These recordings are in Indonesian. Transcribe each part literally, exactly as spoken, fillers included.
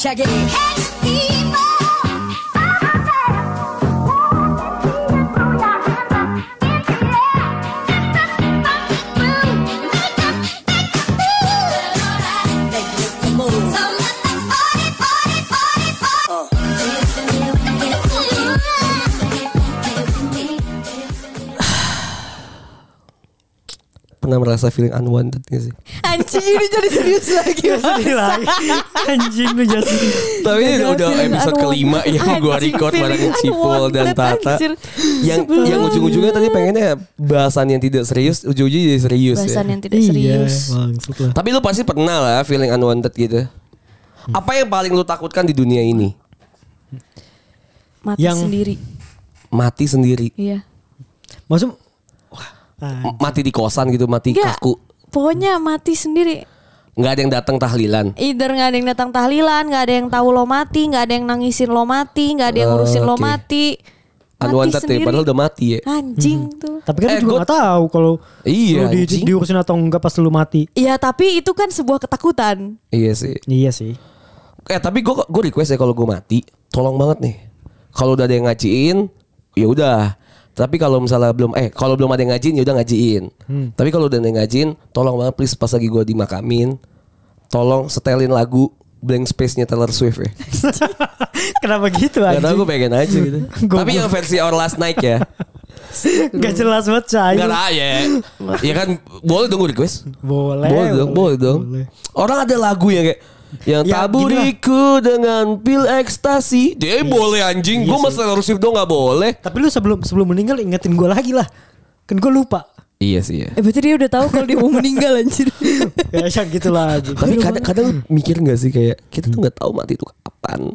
Check it. Pernah merasa feeling unwanted gak sih? Anjing ini jadi serius lagi. Sedih lagi. Anjing gue jadi. Tapi ini udah episode Anwanted. kelima yang gue record bareng Cipul dan Tata. Anjir. Yang yang ujung-ujungnya tadi pengennya bahasan yang tidak serius, ujung-ujungnya jadi serius Bahasan ya. yang tidak serius. Iya, maksud lah. Tapi lu pasti pernah lah feeling unwanted gitu. Apa yang paling lu takutkan di dunia ini? Mati Yang- sendiri. Mati sendiri. Iya. Maksud wah, ah, M- Mati di kosan gitu, mati Enggak. kaku. Pokoknya mati sendiri. Nggak ada yang datang tahlilan. Either gak ada yang datang tahlilan, gak ada yang tahu lo mati, gak ada yang nangisin lo mati, gak ada yang ngurusin lo Oke. mati. Mati Unwanted ya, sendiri. padahal udah mati ya. Anjing tuh. tapi kan Eh, lu juga gua- gak tahu kalau Iya, lu di, anjing. diurusin atau enggak pas lu mati. Iya tapi itu kan sebuah ketakutan. Iya sih. Iya sih. Eh tapi gue gue request ya kalau gue mati, tolong banget nih. Kalau udah ada yang ngajiin, ya udah. Tapi kalau misalnya belum eh kalau belum ada yang ngajiin ya udah ngajiin. Hmm. Tapi kalau udah ada yang ngajiin, tolong banget please pas lagi gue dimakamin, tolong setelin lagu Blank Space-nya Taylor Swift ya. Kenapa gitu Gak tau anjing? gue pengen aja gitu. Gua- Tapi yang versi Our Last Night ya. Gak jelas banget Cahyo. Gak lah ya. Ya kan boleh dong gue request. Boleh. Boleh dong, boleh dong. Boleh. Orang ada lagu yang kayak yang Ya, taburiku dengan pil ekstasi. Dia boleh anjing. Iya Gue sih. mas Taylor Swift dong gak boleh. Tapi lu sebelum sebelum meninggal ingetin gue lagi lah. Kan gue lupa. Iya sih ya. Eh berarti dia udah tahu kalau dia mau meninggal anjir. Ya yang gitu lah anjing. Tapi kadang-kadang mikir gak sih kayak kita tuh gak tahu mati itu kapan.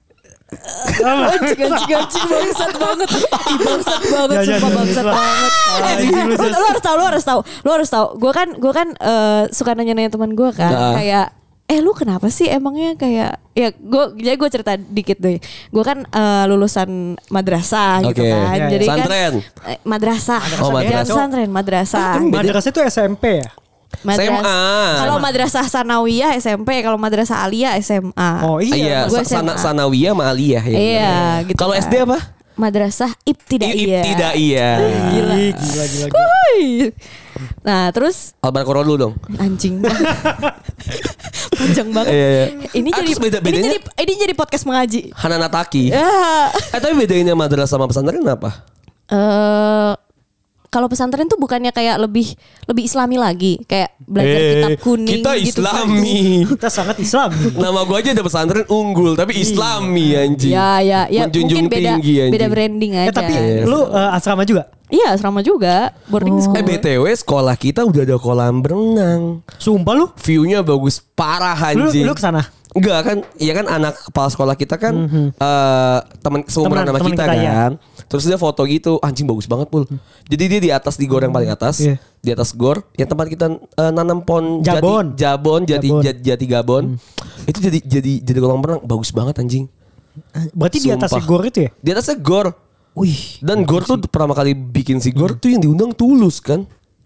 Anjing anjing anjing bangsat banget. Ih bangsat banget Ya, ya, sumpah ya, bangsat ya. banget. Ah, Eh, ini lu, lu lu harus tahu, lu harus tahu. Lu harus tahu. Gue kan gue kan eh, suka nanya-nanya teman gue kan Nah. kayak eh lu kenapa sih emangnya kayak ya gue jadi gue cerita dikit deh. Gue kan eh, lulusan madrasah gitu Oke. kan. Ya, ya. Jadi Santren. kan eh, madrasah. Oh, Jangan madrasah. santren, madrasah. Madrasah itu S M P ya? Madras- S M A. Kalau madrasah sanawiyah S M P, kalau madrasah aliyah S M A. Oh Iya, iya. Gua sa- sana, S M A. sanawiyah sama aliyah ya. Iya, gitu Kalau kan. S D apa? Madrasah ibtidaiyah. Tidak iya. Gila. Ih, gila gila. gila. Wuih. Nah, terus Al-Baqarah dulu dong. anjing. Panjang banget. Iya, iya. Ini Ah, jadi terus beda- ini bedanya- jadi ini jadi podcast mengaji. Hanana Taki. Ya. Eh tapi bedainnya madrasah sama pesantren apa? Eh kalau pesantren tuh bukannya kayak lebih lebih Islami lagi, kayak belajar Eh, kitab kuning kita gitu. Islami. Kita sangat Islam. Nama gue aja ada pesantren unggul tapi Islami anjing. Ya, ya, ya Menjunjung mungkin beda tinggi anjing. beda branding aja. Eh tapi lu eh, asrama juga? Iya, asrama juga, boarding school. Eh B T W sekolah kita udah ada kolam berenang. Sumpah lu? View-nya bagus parah Lu anjing. lu kesana? Enggak kan, iya kan anak kepala sekolah kita kan eh teman seumuran Temen- sama temen kita, kita, ya. kan. Terus dia foto gitu, anjing bagus banget Pul. Jadi dia di atas di gor yang paling atas, Iya. di atas gor yang tempat kita eh, nanam pohon Jabon. jati, jabon, jati, Jabon. jati, jati gabon. Itu jadi jadi jadi kolam renang bagus banget anjing. Berarti di atas Sumpah. gor itu ya? Di atasnya gor. Wih. Dan gor tuh pertama kali bikin si gor tuh yang diundang Tulus kan.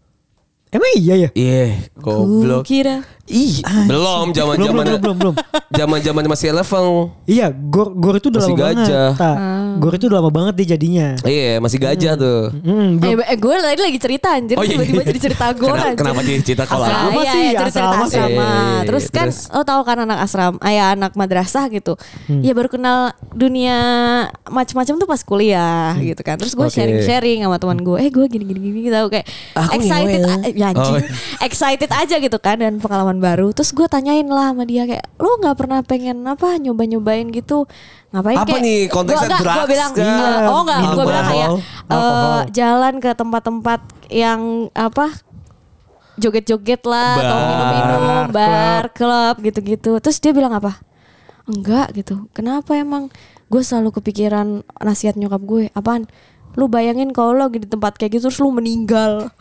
Emang iya ya? Iya, goblok. Kira Ih, belum zaman Belum, zaman belum, belum, belum. zaman zaman masih level. Iya, gor gor itu udah Masih lama gajah. banget. Tak. Gor itu udah lama banget dia jadinya. Iya, masih gajah tuh. Hmm, belum. Eh, eh gue tadi lagi cerita anjir, Oh, iya. tiba-tiba jadi cerita gue Kenapa, anjir. kenapa jadi cerita kalau Asrama aku? Iya, sih, iya, cerita cerita asrama sih. asrama. Iya, iya, iya. Terus kan Terus? lo tahu kan anak asrama, ayah anak madrasah gitu. Ya baru kenal dunia macam-macam tuh pas kuliah gitu kan. Terus gue Oke. sharing-sharing sama teman gue. Eh gue gini-gini gini tahu kayak Aku excited ngewel. a- ya anjing. Oh. Excited aja gitu kan dan pengalaman baru. Terus gue tanyain lah sama dia kayak lo nggak pernah pengen apa nyoba-nyobain gitu. Ngapain Apa kayak nih, konteksnya gua, enggak, gua drugs bilang kah? eh, oh enggak, gue Alkohol? bilang kayak eh, Alkohol. jalan ke tempat-tempat yang apa joget-joget lah atau Bar. minum-minum bar, klub gitu-gitu. Terus dia bilang apa? Enggak gitu. Kenapa emang? Gue selalu kepikiran nasihat nyokap gue. Apaan? Lu bayangin kalau lo lagi di tempat kayak gitu terus lu meninggal.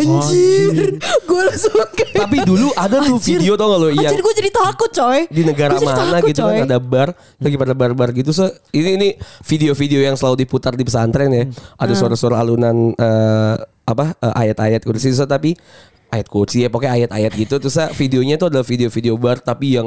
Anjir. Gue langsung kayak Tapi dulu ada tuh Anjir. video tau gak lo yang Anjir gue jadi takut coy. di negara Gua jadi mana takut, gitu coy. kan ada bar lagi pada bar-bar gitu. So, ini ini video-video yang selalu diputar di pesantren ya. Ada suara-suara alunan eh, apa eh, ayat-ayat kursi so, tapi ayat kursi ya pokoknya ayat-ayat gitu. Terus ah, videonya tuh adalah video-video bar tapi yang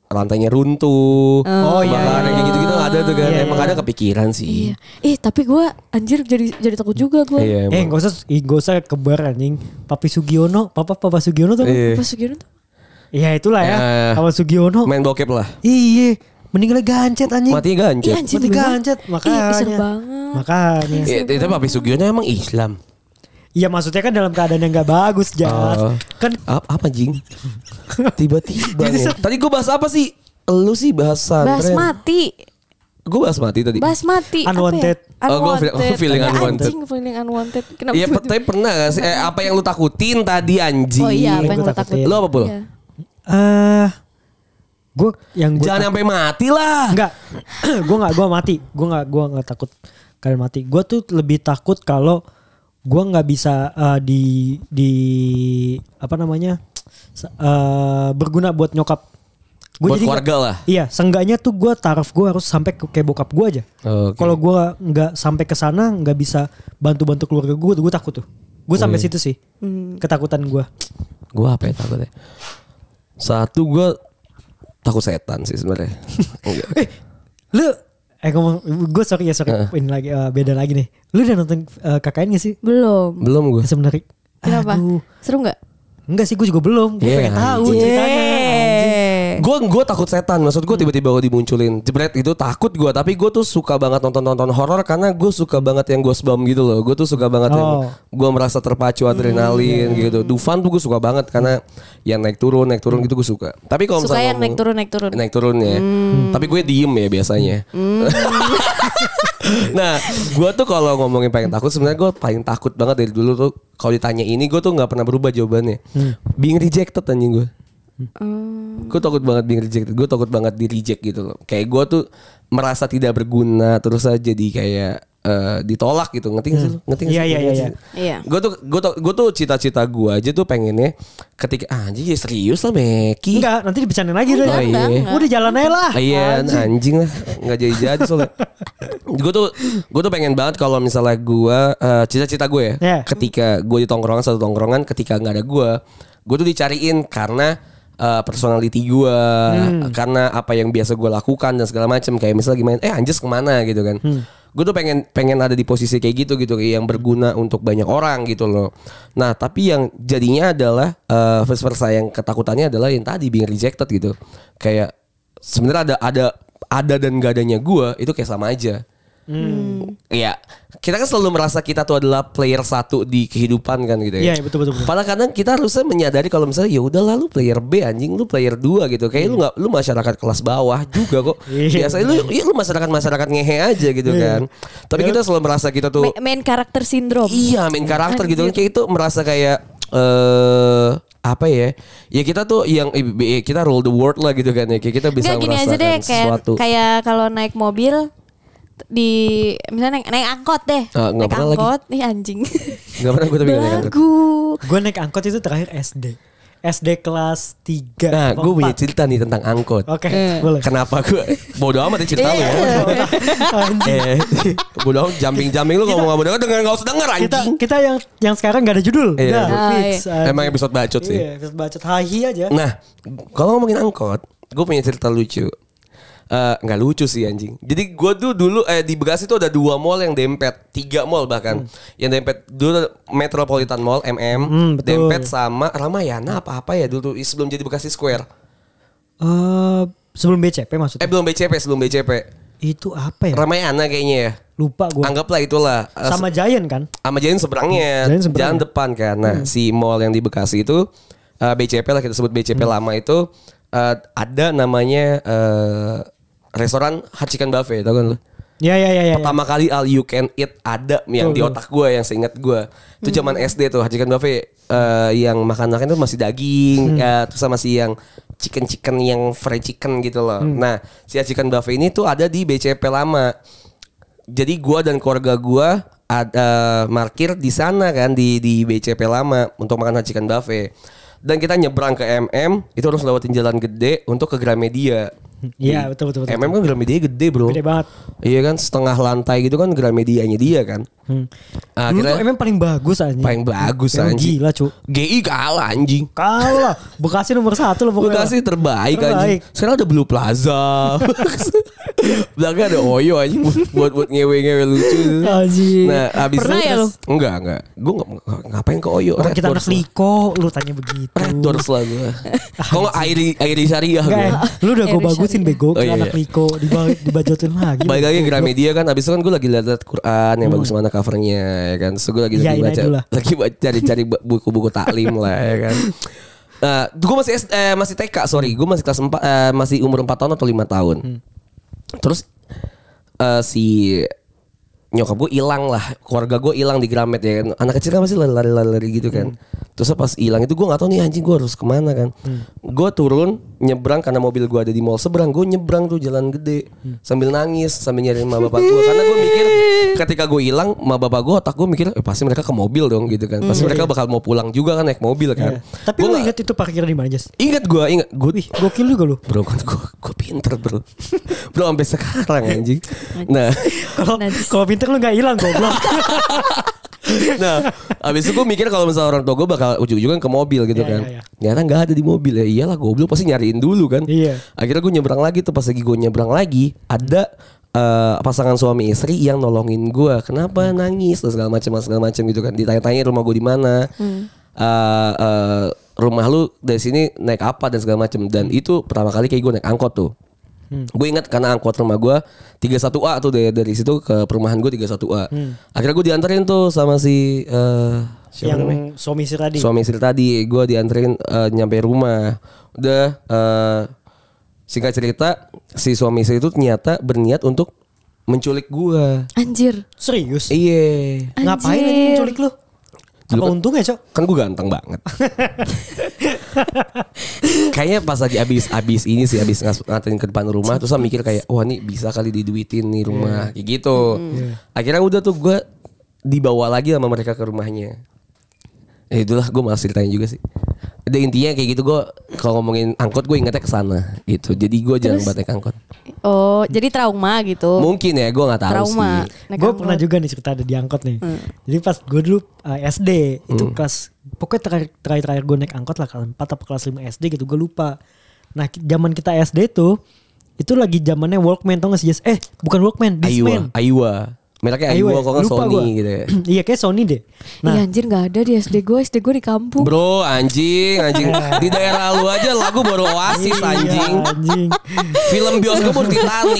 lantainya runtuh. Oh, iya, kebakaran iya. kayak gitu-gitu ada tuh kan. Iya, Emang iya. ada kepikiran sih. Iya. Ih tapi gue anjir jadi jadi takut juga gue. Iya, Eh emang. gak usah ih, gak usah kebar anjing. Papi Sugiono, papa papa Sugiono tuh. Iya. Pas Sugiono tuh. Iya itulah ya. Ya. Papa Sugiono. Main bokep lah. Iya, meninggalnya gancet anjing. Matinya gancet. Iya, anjing. Mati bener. gancet makanya. Ih, serem banget. Makanya. Iya, itu Papi Sugiono emang Islam. Iya maksudnya kan dalam keadaan yang gak bagus Jas. Oh. Kan Apa, apa jing? Tiba-tiba Jadi nih. se- Tadi gue bahas apa sih? Lu sih bahas santren. Basmati. Gue bahas mati tadi. Basmati. Unwanted. Apa ya? Oh, gua feel- Unwanted. oh, feeling Ya, unwanted. Anjing feeling unwanted. Kenapa? Iya, tiba-tiba- tapi pernah gak sih? Eh, apa yang lu takutin tadi anjing? Oh iya, apa yang Gua lo takutin? takutin. Lu apa, Pul? Iya. eh gue yang gua Jangan tak- sampai mati lah. Enggak. gue enggak gue mati. Gue enggak gue enggak takut kalian mati. Gue tuh lebih takut kalau gue nggak bisa eh, di di apa namanya? eh, berguna buat nyokap. Gua Buat jadi keluarga nggak- lah. Iya, seenggaknya tuh gue taraf gue harus sampai ke kayak bokap gue aja. Oke. Kalau gue nggak sampai ke sana, nggak bisa bantu-bantu keluarga gue, gue takut tuh. Gue sampai iya. situ sih, ketakutan gue. Gue apa ya takutnya? Satu gue takut setan sih sebenarnya. Enggak. Lu, eh ngomong, gue sorry ya sorry, Heeh. ini lagi eh, beda lagi nih. Lu udah nonton eh, K K N gak sih? Belum. Belum gue. Sebenarnya. Kenapa? Aduh. Seru nggak? Enggak sih, gue juga belum. Gue Iya, pengen tahu anjing. ceritanya. anjing. Gue gue takut setan. Maksud gue tiba-tiba gue dimunculin jebret itu takut gue. Tapi gue tuh suka banget nonton-nonton horor karena gue suka banget yang goosebump gitu loh. Gue tuh suka banget yang Oh. gue merasa terpacu adrenalin gitu. Dufan tuh gue suka banget karena yang naik turun naik turun gitu gue suka. Tapi kalau Suka misalnya yang naik ngomong- turun naik turun. naik turun ya. Tapi gue diem ya biasanya. Nah, gue tuh kalau ngomongin paling takut sebenarnya gue paling takut banget dari dulu tuh kalau ditanya ini gue tuh nggak pernah berubah jawabannya. Being rejected anjing gue. Gue takut banget being rejected. Gue takut banget di reject gitu loh. Kayak gue tuh merasa tidak berguna terus aja jadi kayak eh, ditolak gitu. Ngerti gak sih lu? Ngerti gak Iya, sih? iya, iya, iya. Iya. Gue tuh gue tuh gue tuh cita-cita gue aja tuh pengennya ketika ah, anjing ya serius lah Meki. Enggak, nanti dibicarain lagi deh. Oh, iya. Udah jalan aja lah. Ah, Iya anjing lah nggak jadi jadi soalnya. Gue tuh gue tuh pengen banget kalau misalnya gue eh, cita-cita gue ya Yeah. ketika gue di tongkrongan satu tongkrongan ketika nggak ada gue gue tuh dicariin karena eh, personality gue karena apa yang biasa gue lakukan dan segala macam kayak misalnya gimana eh Anjas kemana gitu kan. Gue tuh pengen pengen ada di posisi kayak gitu gitu yang berguna untuk banyak orang gitu loh. Nah tapi yang jadinya adalah eh, vice versa yang ketakutannya adalah yang tadi being rejected gitu. Kayak sebenarnya ada ada ada dan gak adanya gue itu kayak sama aja. Iya, kita kan selalu merasa kita tuh adalah player satu di kehidupan kan gitu ya. Iya, betul, betul, betul. Padahal kadang kita harusnya menyadari kalau misalnya ya udah lah lu player B anjing, lu player dua gitu. Kayak lu nggak lu masyarakat kelas bawah juga kok. Iya. Biasanya lu ya lu masyarakat masyarakat ngehe aja gitu kan. Tapi kita selalu merasa kita tuh Ma- main karakter sindrom. iya main karakter gitu kan Anjir. kayak itu merasa kayak eh apa ya? Ya kita tuh yang eh, kita rule the world lah gitu kan ya. Kayak kita bisa Enggak gini aja merasakan deh kayak sesuatu. kayak kalau naik mobil di misalnya naik, naik angkot deh. Ah, nggak naik pernah lagi. angkot nih anjing. Gak pernah gue tapi nggak naik angkot. Belagu. Gue naik angkot itu terakhir S D. S D kelas tiga. Nah, apa gue punya empat. cerita nih tentang angkot. Oke, Eh. boleh. Kenapa gue bodoh amat ya cerita lu ya. Anjing. Eh, bodoh amat jumping-jumping lu ngomong ngomong denger denger enggak usah denger Kita anjing. kita yang yang sekarang gak ada judul. Iya. Udah, Ah, fix. anjing. Emang episode bacot sih. Iya, episode bacot hahi aja. Nah, kalau ngomongin angkot, gue punya cerita lucu. Eh, nggak lucu sih anjing. Jadi gue tuh dulu eh di Bekasi tuh ada dua mall yang dempet, tiga mall bahkan. Yang dempet dulu Metropolitan Mall M M, Hmm, betul. dempet sama Ramayana apa apa ya dulu tuh sebelum jadi Bekasi Square. Eh, sebelum B C P Eh maksudnya. belum B C P, sebelum B C P. Itu apa ya? Ramayana kayaknya ya. Lupa gue. Anggaplah itulah. Eh, Sama Giant kan? sama Jalan seberangnya, Giant seberang. jalan depan kan. Nah, si mall yang di Bekasi itu eh, B C P lah kita sebut B C P lama itu eh, ada namanya eh, restoran Hachikan Buffet, tau kan lu? Ya ya ya ya. Pertama kali all you can eat ada yang Tuh, di tuh. otak gue yang seingat gue. Itu zaman S D tuh Hachikan Buffet eh, yang makan-makan itu masih daging, ya, terus sama si yang chicken-chicken yang fried chicken gitu loh. Nah, si Hachikan Buffet ini tuh ada di B C P lama. Jadi gua dan keluarga gua ada parkir di sana kan di di B C P lama untuk makan Hachikan Buffet. Dan kita nyebrang ke M M itu harus lewatin jalan gede untuk ke Gramedia. Iya, Di- betul betul betul. M M kan Gramedia gede bro. Gede banget. Iya kan setengah lantai gitu kan Gramedianya dia kan. Hmm. Dulu Akhirnya tuh emang paling bagus anjing. paling bagus Emang anjing. Gila cu. G I kalah anjing. Kalah. Bekasi nomor satu loh pokoknya. Bekasi terbaik, Terbaik. anjing. Sekarang ada Blue Plaza. Belakangnya ada Oyo anjing buat buat ngewe-ngewe lucu. Anjing. Nah, habis Pernah itu ya terus- Enggak, enggak. Gue ngapain ke Oyo? Orang Red kita Doors anak lah. Liko, lu tanya begitu. Red Doors lah gue. Kok nggak Airi Airi Syariah Enggak, gue. ya. Lu udah gue Irish bagusin Syariah. bego Oh, ke iya, anak iya. Liko diba- dibajotin lagi. Balik lagi ke Goblok. Gramedia kan. Abis itu kan gue lagi liat Quran yang bagus mana covernya ya kan. Terus gue lagi lagi Iyain aja baca, dulu lah. lagi baca cari-cari buku-buku taklim lah ya kan. Nah, gue masih S- eh, masih T K, sorry, gue masih kelas empat, eh, masih umur empat tahun atau lima tahun. Hmm. Terus eh, si nyokap gue hilang lah, keluarga gue hilang di Gramet ya kan. Anak kecil kan masih lari-lari gitu kan. Terus pas hilang itu gue nggak tahu nih anjing gue harus kemana kan. Gue turun nyebrang karena mobil gue ada di mall seberang. Gue nyebrang tuh jalan gede sambil nangis sambil nyariin emak bapak gue karena gue mikir ketika gue hilang emak bapak gue otak gue mikir eh, pasti mereka ke mobil dong gitu kan. Pasti mereka bakal mau pulang juga kan naik mobil kan. Iya. Tapi Gua lu nggak- inget itu parkir di mana, Jas? Ingat gue ingat gue Wih, gokil juga lu. bro kan gue gue pinter bro bro sampai sekarang anjing. Nah Kalau Najis. kalau pinter lu nggak hilang goblok. Nah, abis itu gue mikir kalau misalnya orang tua gue bakal ujung-ujungnya ke mobil gitu Iya, kan. iya, iya. Ternyata nggak ada di mobil ya. Iyalah goblok pasti nyariin dulu kan. Iya. Akhirnya gue nyebrang lagi tuh pas lagi gue nyebrang lagi ada eh, pasangan suami istri yang nolongin gue. Kenapa nangis dan segala macam segala macam gitu kan. Ditanya-tanya rumah gue di mana. Eh, eh, rumah lu dari sini naik apa dan segala macam. Dan itu pertama kali kayak gue naik angkot tuh. Gue ingat karena angkot rumah gue tiga satu A tuh dari, dari situ ke perumahan gue tiga satu A. Akhirnya gue dianterin tuh sama si eh, siapa namanya? Yang suami istri tadi. Suami istri tadi. Gue dianterin eh, nyampe rumah. Udah eh, singkat cerita si suami istri itu ternyata berniat untuk menculik gue. Anjir. Serius? Iya. Ngapain Anjir. aja menculik lu? Dulu Apa kan- untungnya, Cok? Kan gue ganteng banget. Kayaknya pas lagi abis-abis ini sih abis ngas- nganterin ke depan rumah terus saya mikir kayak wah nih bisa kali diduitin nih rumah kayak gitu. Akhirnya udah tuh gue dibawa lagi sama mereka ke rumahnya. Ya itulah gue malas ceritain juga sih. Ada intinya kayak gitu gue kalau ngomongin angkot gue ingetnya ke sana gitu. Jadi gue jarang banget naik angkot. Oh, jadi trauma gitu. Mungkin ya gue nggak tahu Trauma. sih. Naik Gue angkot. pernah juga nih cerita ada di angkot nih. Jadi pas gue dulu uh, S D itu kelas pokoknya terakhir terakhir, terakhir gue naik angkot lah kelas empat atau kelas lima S D gitu gue lupa. Nah ki- zaman kita S D tuh itu lagi zamannya Walkman tau gak sih Jas? Eh bukan Walkman, Discman. Aywa, Aywa. Mereknya Aywa kok nggak lupa Sony gua. gitu ya. Iya kayak Sony deh. Iya Nah anjir gak ada di S D gue. S D gue di kampung. Bro anjing anjing di daerah lu aja lagu baru Oasis iya, anjing. anjing. Film bioskop baru Titanic.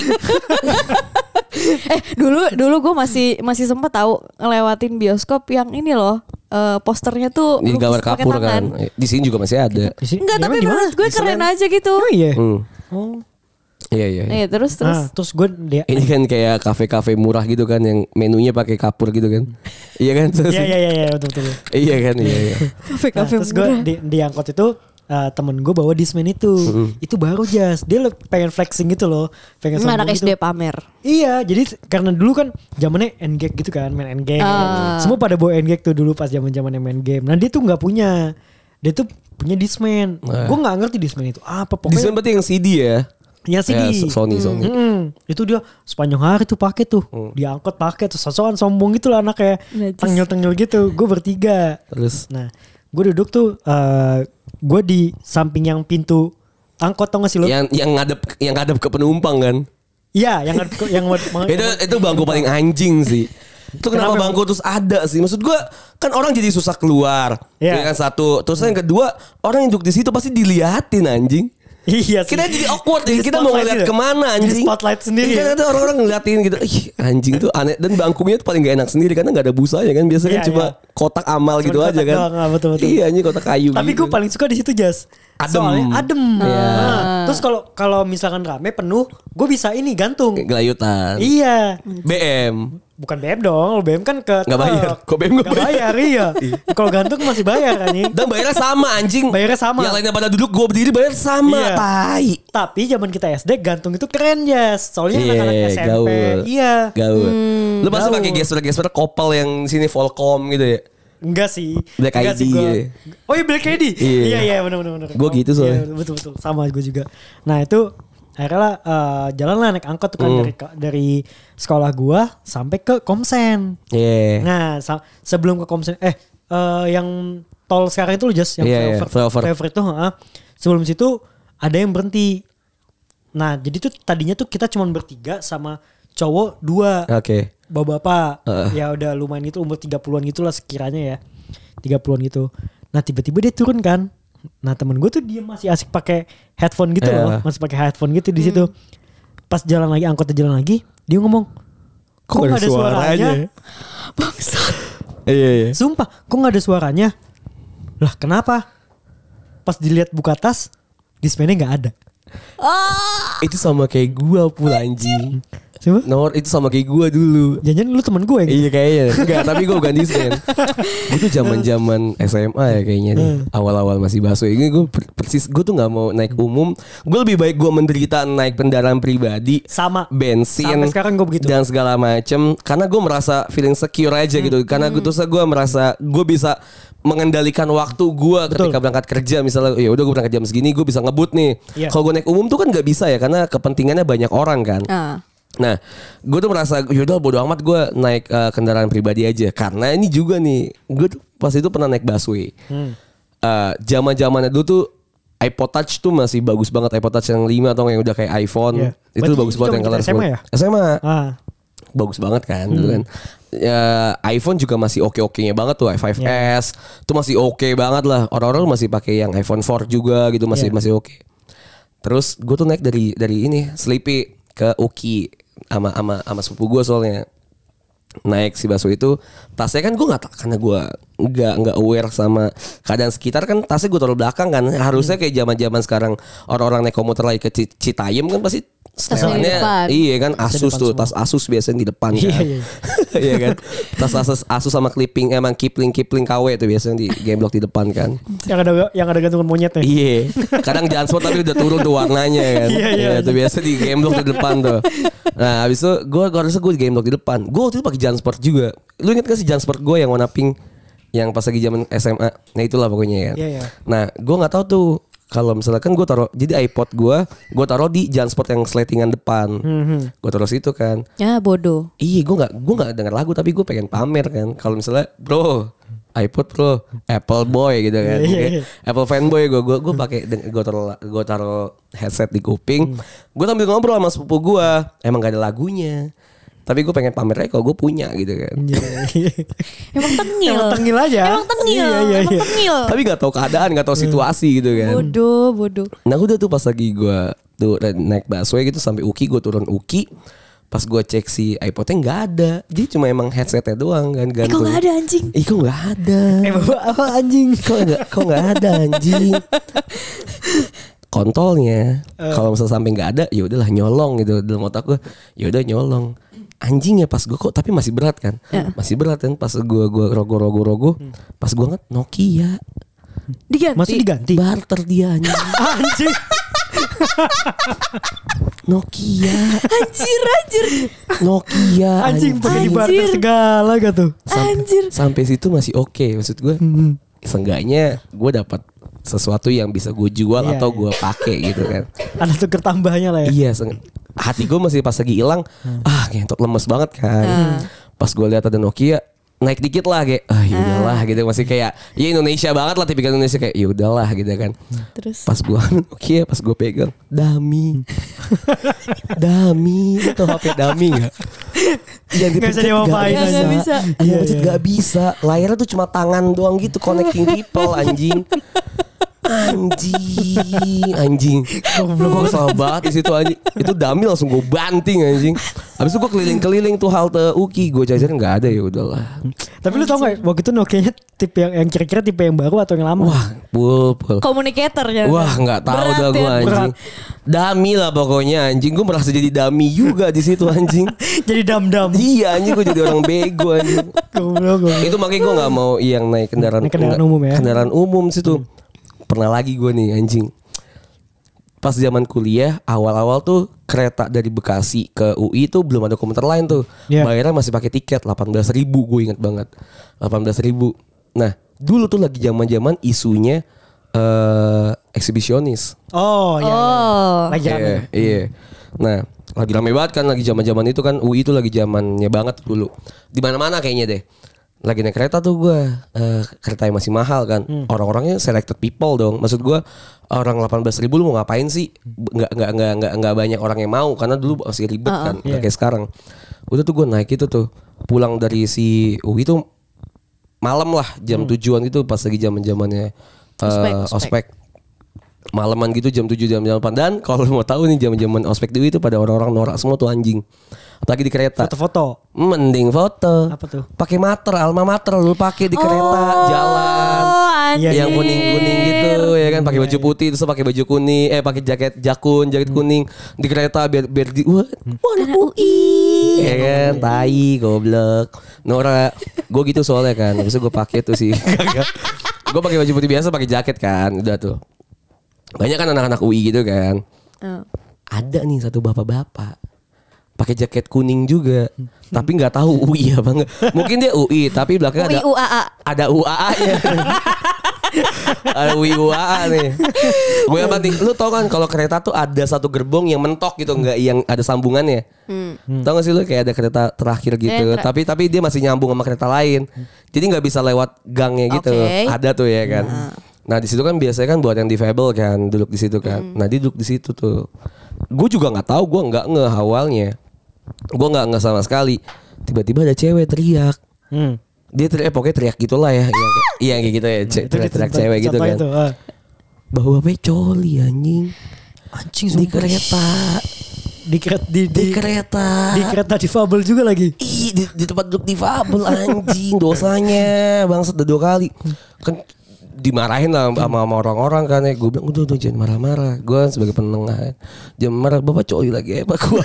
Eh dulu dulu gue masih masih sempet tahu ngelewatin bioskop yang ini loh. eh, posternya tuh Ini gambar lukis pakai kapur tangan. kan. Di sini juga masih ada. Di sini- Enggak, di tapi mana, di mana? menurut gue Di keren Senen? aja gitu. Oh iya. Hmm. Oh. Iya iya. iya. Iya, terus terus. Nah, terus gue dia Ini kan kayak kafe-kafe murah gitu kan yang menunya pakai kapur gitu kan. Iya kan? Iya iya iya iya, betul betul. Iya kan iya iya. Nah, Kafe-kafe terus gue murah. di, di angkot itu uh, temen gue bawa Discman itu. Itu baru Jas. Dia le- pengen flexing gitu loh. Pengen Emang anak sombong S D gitu. pamer. Iya, jadi karena dulu kan zamannya N-Gag gitu kan, main N-Gag. Ah. Semua pada bawa N-Gag tuh dulu pas zaman-zamannya main game. Nah, dia tuh nggak punya. Dia tuh punya Discman. Nah. Gue nggak ngerti Discman itu apa Di sana pokoknya. berarti yang C D ya? Yang C D. Ya, Sony Sony. Mm-mm. Itu dia sepanjang hari tuh pakai tuh. Diangkut pakai tuh sosokan sombong gitu lah anaknya. Najis. Tengil-tengil gitu. Gue bertiga. Terus Nah, gue duduk tuh uh, gue di samping yang pintu angkot tau gak sih lo? yang yang ngadep yang ngadep ke penumpang kan? Iya, yang yang itu itu bangku paling anjing sih. Itu kenapa Kenapa bangku terus ada sih? Maksud gua kan orang jadi susah keluar. Iya. Ya kan satu. Terus yang kedua orang yang duduk di situ pasti diliatin anjing. Iya sih. Kita jadi awkward Jadi ya. Kita mau spotlight ngeliat gitu. kemana Jadi anjing. spotlight sendiri Kan ya. ada orang-orang ngeliatin gitu. Ih anjing tuh aneh. Dan bangkunya tuh paling gak enak sendiri. Karena gak ada busanya kan. Biasanya Iya, kan cuma iya. kotak amal Cuma gitu kotak aja kan. doang, ah, betul-betul. Iya anjing kotak kayu Tapi gitu. gue paling suka di situ Jas. Adem. Soalnya adem. Iya. Nah, terus kalau kalau misalkan rame penuh, gue bisa ini gantung. Gelayutan. Iya. B M. Bukan B M dong, B M kan ke Nggak bayar. truk. Kok B M nggak Nggak bayar, iya. Kalau gantung masih bayar kan Dan bayarnya sama anjing. Bayarnya sama. Yang lainnya pada duduk gue berdiri bayar sama. Iya. Tai. Tapi zaman kita S D gantung itu keren Jas. Soalnya Iya, anak-anak S M P. gaul. Iya. Gaul. Lu pasti gaul. pakai gesper-gesper kopel yang sini Volcom gitu ya. Enggak sih. Black Enggak I D sih gua. gitu. Oh iya Black I D. Iya. Iya iya benar benar benar. Gua gitu soalnya. Iya, betul betul. Sama gue juga. Nah, itu akhirnya uh, jalan lah naik angkot tuh kan Hmm. dari dari sekolah gua sampai ke Komsen. Iya. Nah sa- sebelum ke Komsen eh uh, yang tol sekarang itu loh Jas yang Iya, iya, flyover flyover. flyover itu heeh. Sebelum situ ada yang berhenti. Nah jadi tuh tadinya tuh kita cuma bertiga sama cowok dua. Oke. Bapak-bapak Heeh. ya udah lumayan itu umur tiga puluhan gitulah sekiranya ya. tiga puluhan gitu. Nah tiba-tiba dia turun kan. Nah temen gue tuh dia masih asik pakai headphone gitu Iya. loh, masih pakai headphone gitu di situ. Pas jalan lagi angkotnya jalan lagi, dia ngomong, kok nggak ada suaranya? Bangsat. Iya iya. Sumpah, kok nggak ada suaranya? Lah kenapa? Pas dilihat buka tas, display-nya nggak ada. Ah, Itu sama kayak gua pula anjing. Coba, Nomor itu sama kayak gua dulu. jangan lu temen gue gitu. Iya kayaknya. Enggak, tapi gue bukan disband. Gue tuh zaman-zaman S M A ya kayaknya nih. Awal-awal masih busway. Ini gue persis gue tuh nggak mau naik umum. Gue lebih baik gue menderita naik kendaraan pribadi, Sama. bensin, Sampai sekarang gue begitu. dan segala macem. Karena gue merasa feeling secure aja gitu. Karena gue tuh gue merasa gue bisa mengendalikan waktu gue ketika berangkat kerja. Misalnya ya udah gue berangkat jam segini, gue bisa ngebut nih. Iya. Kalau gue naik umum tuh kan nggak bisa ya, karena kepentingannya banyak orang kan. ah. Nah, gue tuh merasa yaudah bodo amat gue naik uh, kendaraan pribadi aja. Karena ini juga nih, gue tuh pas itu pernah naik busway. Hmm. Uh, Zaman-zamannya dulu tuh iPod Touch tuh masih bagus banget. iPod Touch yang lima atau yang udah kayak iPhone. Iya. Itu Berarti bagus itu banget yang zaman color kita S M A ya? S M A. Ah, Bagus banget kan dulu kan. Ya, iPhone juga masih oke-okenya banget tuh. i lima Iya. S tuh masih oke banget lah. Orang-orang masih pakai yang iPhone four juga gitu, masih Iya. masih oke. Terus gue tuh naik dari dari ini Sleepy ke Uki sama sama sama sepupu gue soalnya. Naik si Baso itu tasnya kan gue nggak tak karena gue nggak nggak aware sama keadaan sekitar kan, tasnya gue taruh belakang kan. Harusnya kayak zaman zaman sekarang orang-orang naik komuter lagi ke Ci- Citayam kan pasti Tasnya di setelannya depan. iya kan Tasnya Asus depan tuh semua. tas Asus biasanya di depan kan. Iya, iya. Iya kan. Tas Asus Asus sama clipping emang Kipling Kipling K W tuh biasanya di game block di depan kan. yang ada yang ada gantungan monyetnya. Iya. Kadang jansport tapi udah turun tuh warnanya kan. Iya, iya. Itu biasa di game block di depan tuh. Nah, habis itu gue gue harusnya gue di game block di depan. Gue waktu itu pakai jansport juga. Lu inget gak sih jansport gue yang warna pink yang pas lagi zaman S M A? Nah, itulah pokoknya kan. Iya, iya. Nah, gue nggak tahu tuh kalau misalkan gue taruh jadi iPod gue, gue taruh di jansport yang slatingan depan. Hmm. Gue taruh situ kan. Ya bodoh. Iya, gue nggak gue nggak denger lagu tapi gue pengen pamer kan. Kalau misalnya bro iPod bro, Apple boy gitu kan, Iya, iya, Kayak iya. Apple fanboy gue, gue gue pakai gue taruh gue taruh headset di kuping, gue sambil ngobrol sama sepupu gue, emang gak ada lagunya, tapi gue pengen pamer aja kalau gue punya gitu kan, Iya. Emang tengil. Emang tengil aja. Emang tengil. Iya, iya, Emang iya. tengil. tapi gak tahu keadaan, gak tahu situasi gitu kan. Bodoh, bodoh. Nah udah tuh pas lagi gue tuh naik busway gitu sampai Uki, gue turun Uki. Pas gue cek si iPodnya nggak ada, jadi cuma emang headsetnya doang kan Eh kok gantung. gak ada anjing? Ih kok nggak ada? Eh bapak apa anjing? Kok nggak kok nggak ada anjing? Kontolnya kalau misalnya sampai nggak ada, ya udahlah nyolong gitu dalam otak gue. Ya udah nyolong. Anjing ya pas gue kok tapi masih berat kan? Ya. Masih berat kan pas gue gue rogo rogo rogo. Pas gue ngat Nokia. Diganti. Masih diganti. Barter dia anjing. Anjing. Nokia. Anjir, anjir. Nokia. Anjing pakai di Anjir. barter segala gak tuh? Anjir. Sampai situ masih oke maksud gue. Seenggaknya gue dapat sesuatu yang bisa gue jual Iya, atau iya. gue pakai gitu kan. Ada tuker tambahnya lah ya. Iya, seng- hati gue masih pas lagi hilang, ah ngentot lemes banget kan. Hmm. Pas gue lihat ada Nokia naik dikit lah kayak, ah yaudahlah gitu masih kayak, ya Indonesia banget lah tipikal Indonesia kayak, yaudahlah gitu kan. Terus. Pas gue Nokia, pas gue pegang, dami, dami, itu H P dami nggak? Yang Nggak bisa diapa-apain. Nggak, nggak bisa. Iya, Iya, pencet iya. nggak bisa. Layarnya tuh cuma tangan doang gitu, connecting people anjing. Anjing, anjing. Gue kesal banget di situ anjing. Itu dami langsung gue banting anjing. Habis itu gue keliling-keliling tuh halte Uki, gue jajarin nggak ada, ya udahlah. Tapi lu tau gak waktu itu Nokia-nya tipe yang, yang kira-kira tipe yang baru atau yang lama? Wah, pul pul. Communicator ya. Wah, nggak tahu Berat dah gue ya. anjing. Dami lah pokoknya anjing. Gue merasa jadi dami juga di situ anjing. Jadi dam-dam. Iya anjing, gue jadi orang bego anjing. Goblok, goblok. Itu makanya gue nggak mau yang naik kendaraan Naik kendaraan umum ya? Kendaraan umum situ. Pernah lagi gue nih anjing. Pas zaman kuliah awal-awal tuh kereta dari Bekasi ke U I tuh belum ada komuter lain tuh. Iya. Bayarnya masih pakai tiket delapan belas ribu, gue ingat banget. delapan belas ribu. Nah, dulu tuh lagi zaman-zaman isunya eh eksibisionis. Oh, iya. Oh. iya. Lagi rame. Iya, iya. Nah, lagi rame banget kan, lagi zaman-zaman itu kan U I itu lagi zamannya banget dulu. Di mana-mana kayaknya deh. Lagi naik kereta tuh gue, uh, kereta yang masih mahal kan. Hmm. Orang-orangnya selected people dong. Maksud gue orang delapan belas ribu lu mau ngapain sih? Nggak nggak nggak nggak nggak banyak orang yang mau karena dulu masih ribet uh-uh. kan, yeah. kayak sekarang. Udah tuh gue naik itu tuh, pulang dari si U I tuh malam lah jam hmm. tujuan gitu pas lagi zaman-zamannya uh, ospek, ospek. ospek. Malaman gitu jam tujuh jam delapan. Dan kalau mau tahu nih zaman-zaman ospek dulu itu pada orang-orang norak semua tuh anjing. Apalagi di kereta. Foto-foto. Mending foto. Apa tuh? Pakai mater, alma mater lu pakai di kereta oh, jalan. Anjir. Yang kuning-kuning gitu ya kan, pakai baju putih terus pakai baju kuning, eh pakai jaket jakun, jaket kuning di kereta biar biar di wah, anak U I. Ya kan, tai goblok. Nora, gue gitu soalnya kan. Habis itu gue pakai tuh sih. Gue pakai baju putih biasa, pakai jaket kan. Udah tuh. Banyak kan anak-anak U I gitu kan. Oh. Ada nih satu bapak-bapak pakai jaket kuning juga, tapi nggak tahu U I apa enggak. Mungkin dia U I, tapi belakangnya ada U I U A A. Ada U A A-nya. Ada U I U A A nih. Gue apa nih? Lu tau kan kalau kereta tuh ada satu gerbong yang mentok gitu, nggak yang ada sambungannya. Hmm. Tau gak sih lu kayak ada kereta terakhir gitu, yeah, ter- tapi tapi dia masih nyambung sama kereta lain. Jadi nggak bisa lewat gangnya gitu. Okay. Ada tuh ya kan. Nah. Nah di situ kan biasanya kan buat yang difabel kan duduk di situ kan. Hmm. Nah dia duduk di situ tuh. Gue juga nggak tahu, gue nggak nge awalnya. Gue nggak nge sama sekali. Tiba-tiba ada cewek teriak. Hmm. Dia teriak, eh, pokoknya teriak gitulah ya. Yang kayak, iya kayak gitu ya. C- teriak, teriak cewek gitu kan. Itu, uh. Bahwa coli anjing. Anjing di kereta. Di kereta di, di, di kereta. Di kereta difabel juga lagi. Ih di, di tempat duduk difabel anjing. Dosanya bangsat udah dua kali. Kan dimarahin lah sama, sama orang-orang kan ya. Gue bilang udah udah jangan marah-marah. Gue sebagai penengah jangan marah, bapak coli lagi apa gue.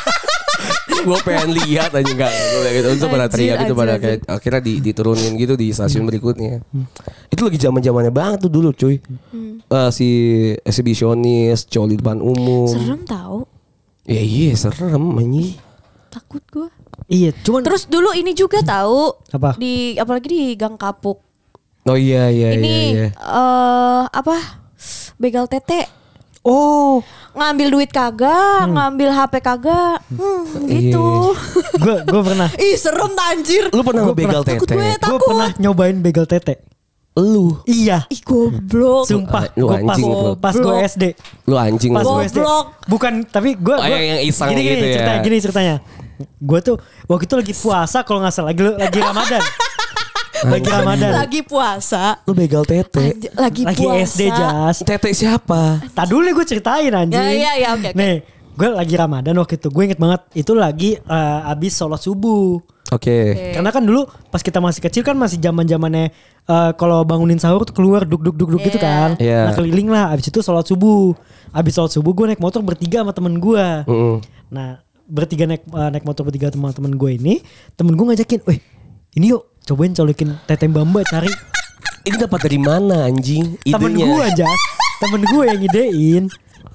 Gue pengen lihat aja enggak gitu. Itu pada teriak gitu, pada kayak akhirnya di, diturunin gitu di stasiun berikutnya. Itu lagi zaman-zamannya banget tuh dulu cuy. hmm. uh, Si eksibisionis coli depan umum. Serem tau. Ya iya serem anjing. Takut gue. Iya cuman. Terus dulu ini juga tahu. Apa? Di apalagi di Gang Kapuk. Oh iya iya ini, iya. Ini uh, apa? Begal tete. Oh, ngambil duit kagak, hmm. ngambil H P kagak, hmm, gitu. Gue gue pernah. Ih serem anjir. Lu pernah begal tete? Gue pernah nyobain begal tete. Lu? Iya. Ih goblok. Sumpah. Lu anjing pas, pas gue S D. Lu anjing. Pas gue S D. Bukan, tapi gue. Oh, yang iseng gini, gitu gini, ya. Ceritanya, gini ceritanya. Gue tuh waktu itu lagi puasa kalau nggak salah, lagi lagi Ramadan. Lagi Ramadan. Lagi puasa. Lu begal tete. Anj- lagi, lagi puasa. S D Jas. Tete siapa? Tak dulu gue ceritain anjing. Ya ya ya oke. Okay, Nih, gue lagi Ramadan waktu itu. Gue inget banget itu lagi uh, abis sholat subuh. Oke. Okay. Okay. Karena kan dulu pas kita masih kecil kan masih zaman-zamannya uh, kalau bangunin sahur tuh keluar duk duk duk duk yeah. gitu kan. Yeah. Nah keliling lah. Abis itu sholat subuh. Abis sholat subuh gue naik motor bertiga sama temen gue. Mm. Nah bertiga naik uh, naik motor bertiga sama temen gue ini. Temen gue ngajakin, weh ini yuk cobain colokin tete Bamba cari. Ini dapat dari mana anjing? Idenya. Temen gue aja. Temen gue yang idein.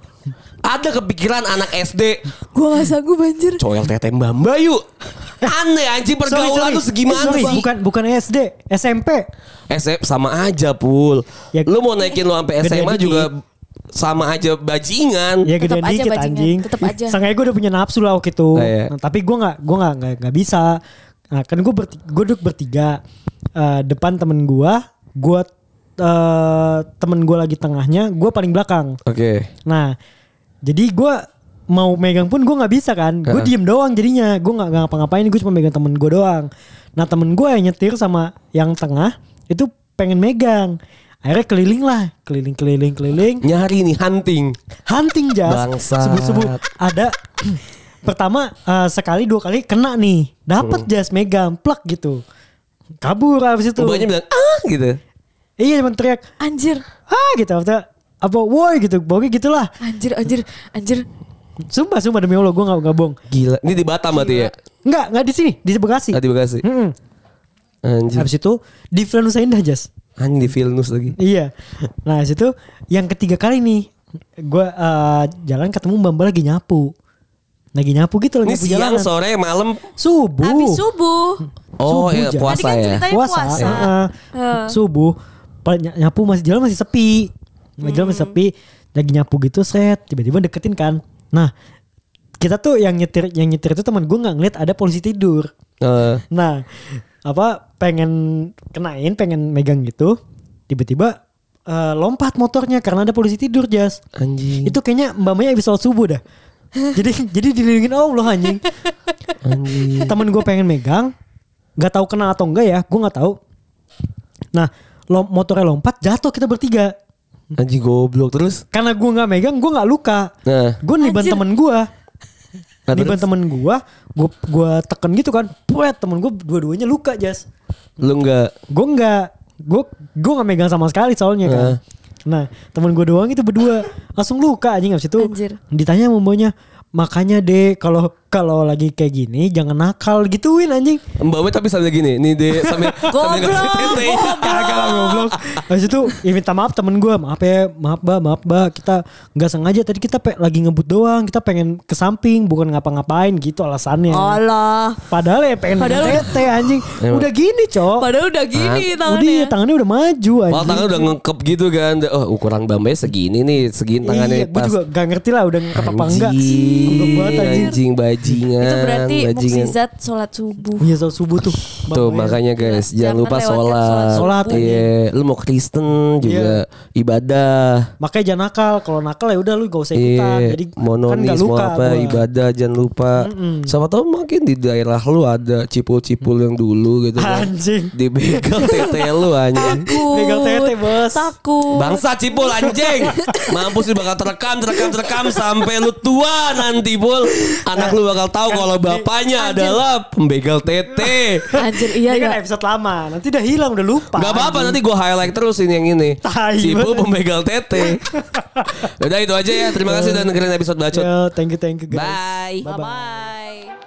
Ada kepikiran anak S D. Gue gak sanggup anjir. Coel tete Bamba yuk. Aneh anjing pergaulan tuh segimana sorry, sih? Bukan bukan S D, S M P. S M P sama aja Pul. Ya, lu mau naikin lu sampai S M A juga sama aja bajingan. Ya gede dikit anjing. Tetep aja. Sangkanya gue udah punya nafsu lah waktu itu. Oh, iya. Nah, tapi gue nggak gue nggak nggak bisa. Nah, kan gue berti- gue duduk bertiga uh, depan temen gue, gue uh, temen gue lagi tengahnya, gue paling belakang. Oke. Okay. Nah, jadi gue mau megang pun gue nggak bisa kan, gue uh-huh. diem doang jadinya, gue nggak ngapa-ngapain, gue cuma megang temen gue doang. Nah temen gue yang nyetir sama yang tengah itu pengen megang. Akhirnya keliling lah, keliling keliling keliling. Nyari nih hunting, hunting Jas. Subuh-subuh ada. Pertama uh, sekali dua kali kena nih, dapat hmm. Jas megang, plak gitu, kabur abis itu. Mbaknya bilang ah gitu. Iya cuma teriak anjir, ah gitu, apa apa woi gitu, pokoknya gitulah. Anjir anjir anjir. Sumpah sumpah demi Allah gue nggak nggak bohong. Gila, ini di Batam berarti ya? Enggak nggak di sini, di Bekasi. Ah, di Bekasi. Mm-mm. Anjir. Abis itu di Vilnusa Indah Jas. Anjing di Vilnus lagi. Iya. Nah abis itu yang ketiga kali nih, gue uh, jalan ketemu Mbak Mbak lagi nyapu. Lagi nyapu gitu lagi nyapu jalanan. Siang, sore, malam, subuh. Habis subuh. Oh, subuh, iya, puasa kan ya. Puasa. puasa. Uh, uh. Subuh. Nyapu masih jalan masih sepi. Meja masih sepi, lagi nyapu gitu set, tiba-tiba deketin kan. Nah, kita tuh yang nyetir yang nyetir itu teman gue nggak ngeliat ada polisi tidur. Uh. Nah, apa pengen kenain, pengen megang gitu, tiba-tiba uh, lompat motornya karena ada polisi tidur, Jas. Anjing. Itu kayaknya mbak-mbaknya habis sholat subuh dah. jadi jadi dilindungin Allah anjing. Anjing. Temen gue pengen megang, nggak tahu kena atau enggak ya, gue nggak tahu. Nah, lom, motornya lompat, jatuh kita bertiga. Anjing goblok terus. Karena gue nggak megang, gue nggak luka. Nah, gue niban temen gue. Nah, niban terus? temen gue, gue gue teken gitu kan, puet temen gue dua-duanya luka, Jas. Lu enggak. Gue nggak, gue gue nggak megang sama sekali soalnya kan. Nah. Nah, temen gue doang itu berdua langsung luka anjing. Abis itu Anjir. ditanya sama mbaknya, makanya deh kalau kalau lagi kayak gini jangan nakal gituin anjing. Mbak tapi sambil gini, nih deh sambil sambil ngasih Goblok, tete. Kagak lah goblok. Habis itu ya minta maaf temen gue, maaf ya, maaf mbak, maaf mbak, kita nggak sengaja tadi kita pe- lagi ngebut doang, kita pengen ke samping bukan ngapa-ngapain gitu alasannya. Allah. Padahal ya pengen Padahal tete anjing. Emang. Udah gini cok. Padahal udah gini Udah tangannya. iya, tangannya udah maju anjing. Malah tangannya udah ngekep gitu kan. Oh ukuran Bambay segini nih, segini tangannya Iya, gue pas. juga gak ngerti lah udah ngekep apa enggak. Anjing, Goblok banget anjing. anjing bajingan. Itu berarti bajingan. mukjizat sholat subuh. Iya sholat subuh tuh. Tuh Bang, makanya guys, jangan Jangan lupa lewatkan sholat. sholat Sholat, subuh. Iya, lu mau Kristen juga ibadah. makanya jangan nakal. Kalau nakal ya udah lu gak usah ikutan. Iya, Jadi kan mononis gak mau luka apa gua. ibadah jangan lupa. Siapa tahu mungkin di daerah lu ada cipul-cipul yang dulu gitu kan. Anjing. Dibegal tete lu anjing. Takut. Begal tete, Bos. Takut. Bangsa cipul anjing. Mampus lu bakal terekam terekam terekam sampai lu tua nanti Pul. Anak lu bakal tahu kalau bapaknya adalah pembegal tete. Anjir iya Ini kan ya. episode lama. Nanti udah hilang, udah lupa. Gak apa-apa nanti gue highlight terus ini yang ini. Tai Cipul banget. pembegal tete. Udah itu aja ya. Terima kasih udah dengerin episode bacot. Yo, thank you, thank you guys. Bye. Bye bye.